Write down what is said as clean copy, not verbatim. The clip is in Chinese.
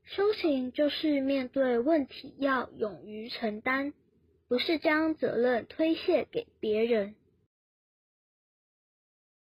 修行就是面对问题要勇于承担，不是将责任推卸给别人。